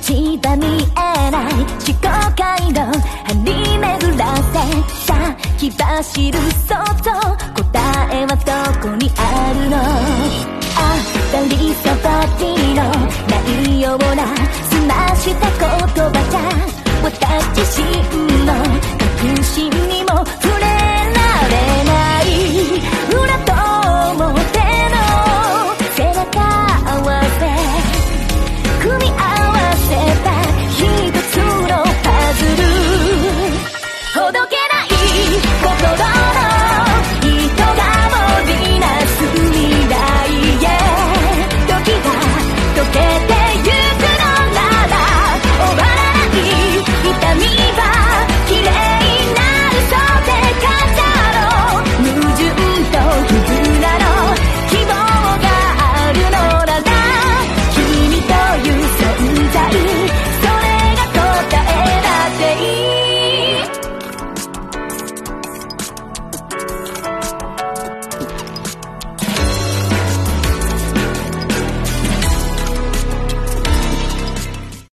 道は見えない思考回路張り巡らせ先走る想像答えはどこにあるの当たり障りのないような澄ました言葉じゃ私自身の確信にも触れ